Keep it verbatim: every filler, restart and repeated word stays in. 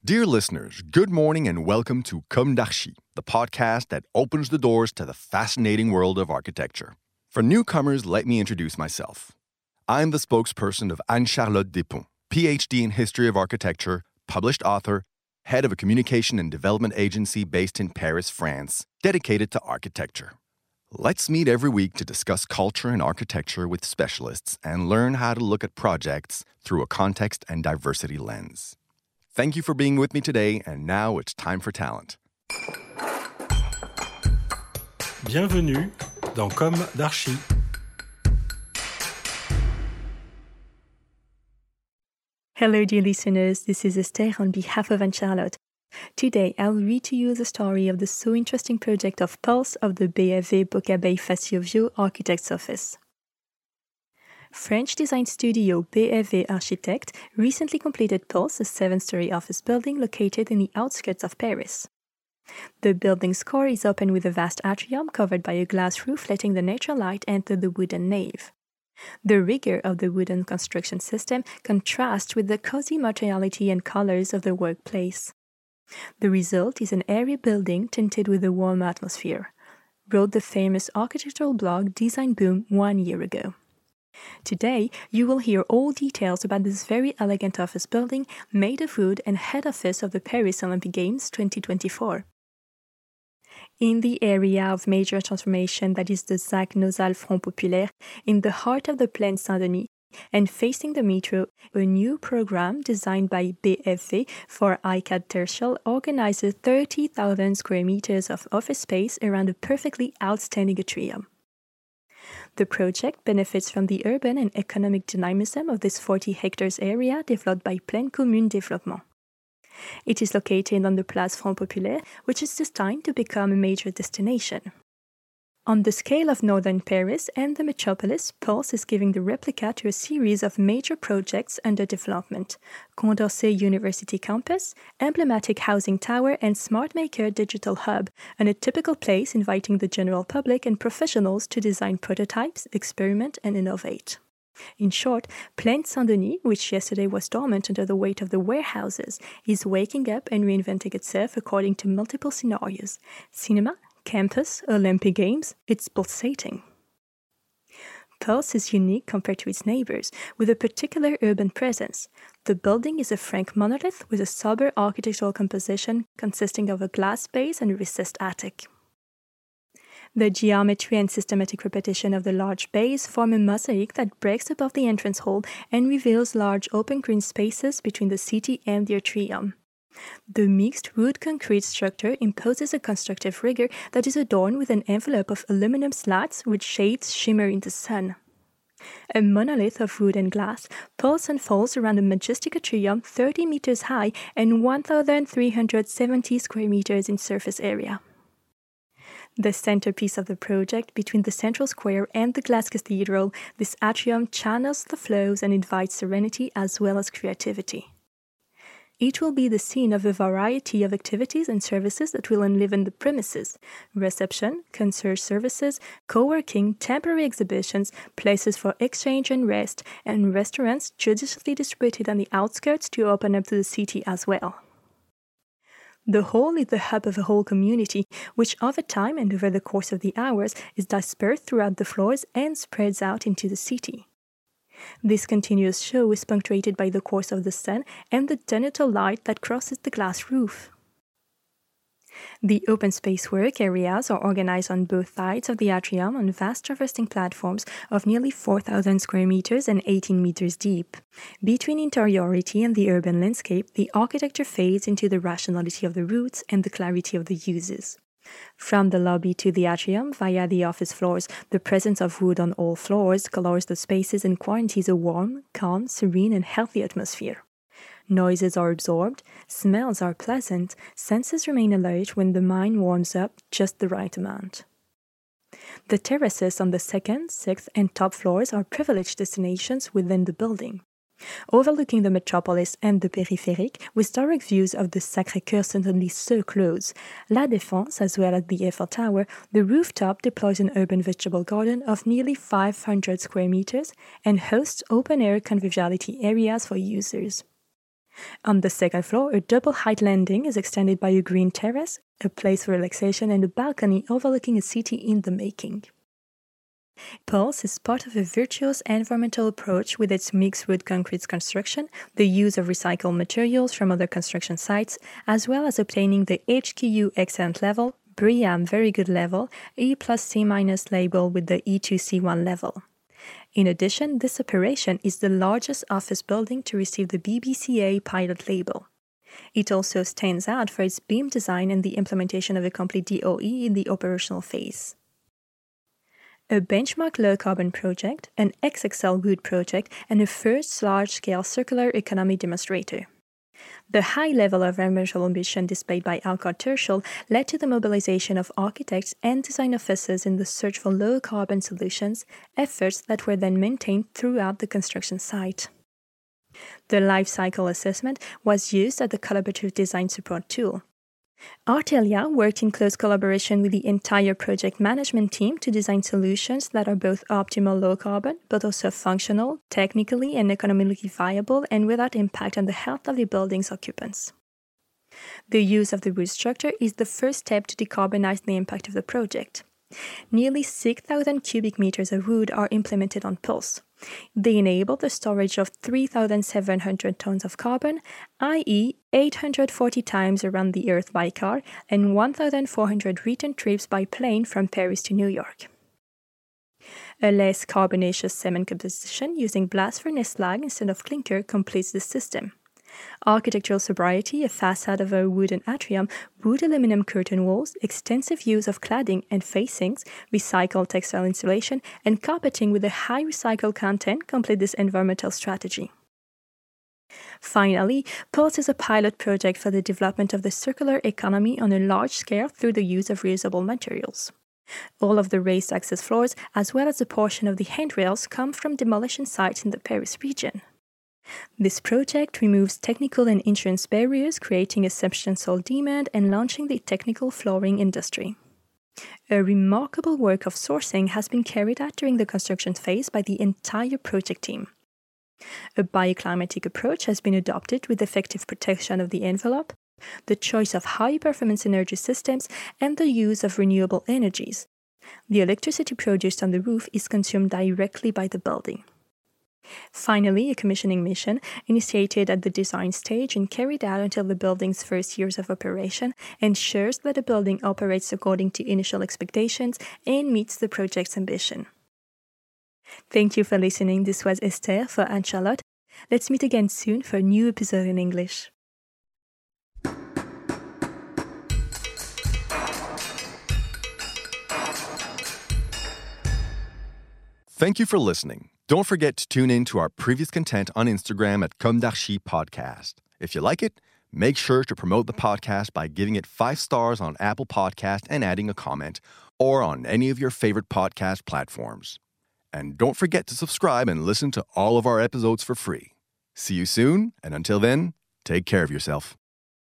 Dear listeners, good morning and welcome to Comme d'Archi, the podcast that opens the doors to the fascinating world of architecture. For newcomers, let me introduce myself. I'm the spokesperson of Anne-Charlotte Despont, P H D in History of Architecture, published author, head of a communication and development agency based in Paris, France, dedicated to architecture. Let's meet every week to discuss culture and architecture with specialists and learn how to look at projects through a context and diversity lens. Thank you for being with me today, and now it's time for talent. Bienvenue dans Comme d'Archi. Hello, dear listeners. This is Esther on behalf of Anne-Charlotte. Today, I'll read to you the story of the so interesting project of Pulse of the B F V Boccabey-Facio Architect's Office. French design studio B F V Architect recently completed Pulse, a seven-story office building located in the outskirts of Paris. The building's core is open with a vast atrium covered by a glass roof letting the natural light enter the wooden nave. The rigor of the wooden construction system contrasts with the cozy materiality and colors of the workplace. The result is an airy building tinted with a warm atmosphere, wrote the famous architectural blog Design Boom one year ago. Today, you will hear all details about this very elegant office building made of wood and head office of the Paris Olympic Games twenty twenty-four. In the area of major transformation that is the Zac Nosal Front Populaire, in the heart of the Plaine Saint-Denis, and facing the metro, a new program designed by B F V for Icade Tertial organizes thirty thousand square meters of office space around a perfectly outstanding atrium. The project benefits from the urban and economic dynamism of this forty hectares area developed by Plaine Commune Développement. It is located on the Place Front Populaire, which is destined to become a major destination. On the scale of northern Paris and the metropolis, Pulse is giving the replica to a series of major projects under development: Condorcet University Campus, emblematic housing tower, and SmartMaker Digital Hub, and a typical place inviting the general public and professionals to design prototypes, experiment, and innovate. In short, Plaine Saint-Denis, which yesterday was dormant under the weight of the warehouses, is waking up and reinventing itself according to multiple scenarios: cinema, campus, Olympic Games, it's pulsating. Pulse is unique compared to its neighbors, with a particular urban presence. The building is a frank monolith with a sober architectural composition consisting of a glass base and a recessed attic. The geometry and systematic repetition of the large base form a mosaic that breaks above the entrance hall and reveals large open green spaces between the city and the atrium. The mixed wood-concrete structure imposes a constructive rigor that is adorned with an envelope of aluminum slats which shades shimmer in the sun. A monolith of wood and glass, Pulse unfolds around a majestic atrium thirty meters high and one thousand three hundred seventy square meters in surface area. The centerpiece of the project, between the central square and the glass cathedral, this atrium channels the flows and invites serenity as well as creativity. It will be the scene of a variety of activities and services that will enliven the premises: reception, concierge services, co-working, temporary exhibitions, places for exchange and rest, and restaurants judiciously distributed on the outskirts to open up to the city as well. The hall is the hub of a whole community, which over time and over the course of the hours is dispersed throughout the floors and spreads out into the city. This continuous show is punctuated by the course of the sun and the genital light that crosses the glass roof. The open space work areas are organized on both sides of the atrium on vast traversing platforms of nearly four thousand square meters and eighteen meters deep. Between interiority and the urban landscape, the architecture fades into the rationality of the roots and the clarity of the uses. From the lobby to the atrium, via the office floors, the presence of wood on all floors colors the spaces and guarantees a warm, calm, serene, and healthy atmosphere. Noises are absorbed, smells are pleasant, senses remain alert when the mind warms up just the right amount. The terraces on the second, sixth, and top floors are privileged destinations within the building. Overlooking the metropolis and the périphérique, with direct views of the Sacré-Cœur Saint-Denis so close, La Défense, as well as the Eiffel Tower, the rooftop deploys an urban vegetable garden of nearly five hundred square meters and hosts open-air conviviality areas for users. On the second floor, a double-height landing is extended by a green terrace, a place for relaxation, and a balcony overlooking a city in the making. Pulse is part of a virtuous environmental approach with its mixed wood concrete construction, the use of recycled materials from other construction sites, as well as obtaining the H Q U Excellent level, BREEAM Very Good level, E plus C minus label with the E two C one level. In addition, this operation is the largest office building to receive the B B C A pilot label. It also stands out for its beam design and the implementation of a complete D O E in the operational phase. A benchmark low-carbon project, an X X L wood project, and a first large-scale circular economy demonstrator. The high level of environmental ambition displayed by Alcott Tertial led to the mobilization of architects and design offices in the search for low-carbon solutions, efforts that were then maintained throughout the construction site. The life cycle assessment was used as the collaborative design support tool. Artelia worked in close collaboration with the entire project management team to design solutions that are both optimal low-carbon, but also functional, technically and economically viable, and without impact on the health of the building's occupants. The use of the wood structure is the first step to decarbonize the impact of the project. Nearly six thousand cubic meters of wood are implemented on Pulse. They enable the storage of three thousand seven hundred tons of carbon, that is eight hundred forty times around the Earth by car and one thousand four hundred return trips by plane from Paris to New York. A less carbonaceous cement composition using blast furnace slag instead of clinker completes the system. Architectural sobriety, a facade of a wooden atrium, wood aluminum curtain walls, extensive use of cladding and facings, recycled textile insulation, and carpeting with a high recycled content complete this environmental strategy. Finally, Pulse is a pilot project for the development of the circular economy on a large scale through the use of reusable materials. All of the raised access floors, as well as a portion of the handrails, come from demolition sites in the Paris region. This project removes technical and insurance barriers, creating a substantial demand and launching the technical flooring industry. A remarkable work of sourcing has been carried out during the construction phase by the entire project team. A bioclimatic approach has been adopted with effective protection of the envelope, the choice of high-performance energy systems, and the use of renewable energies. The electricity produced on the roof is consumed directly by the building. Finally, a commissioning mission, initiated at the design stage and carried out until the building's first years of operation, ensures that the building operates according to initial expectations and meets the project's ambition. Thank you for listening. This was Esther for Anne-Charlotte. Let's meet again soon for a new episode in English. Thank you for listening. Don't forget to tune in to our previous content on Instagram at Comme d'Archi Podcast. If you like it, make sure to promote the podcast by giving it five stars on Apple Podcast and adding a comment, or on any of your favorite podcast platforms. And don't forget to subscribe and listen to all of our episodes for free. See you soon, and until then, take care of yourself.